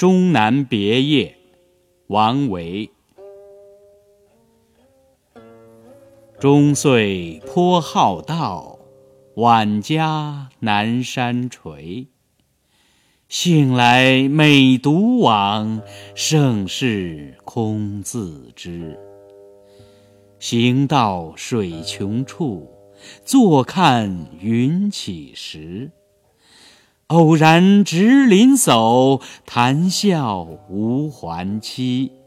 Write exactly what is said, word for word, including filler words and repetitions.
终南别业，王维。终岁颇好道，晚家南山陲。醒来每独往，盛世空自知。行到水穷处，坐看云起时。偶然值林叟，谈笑无还期。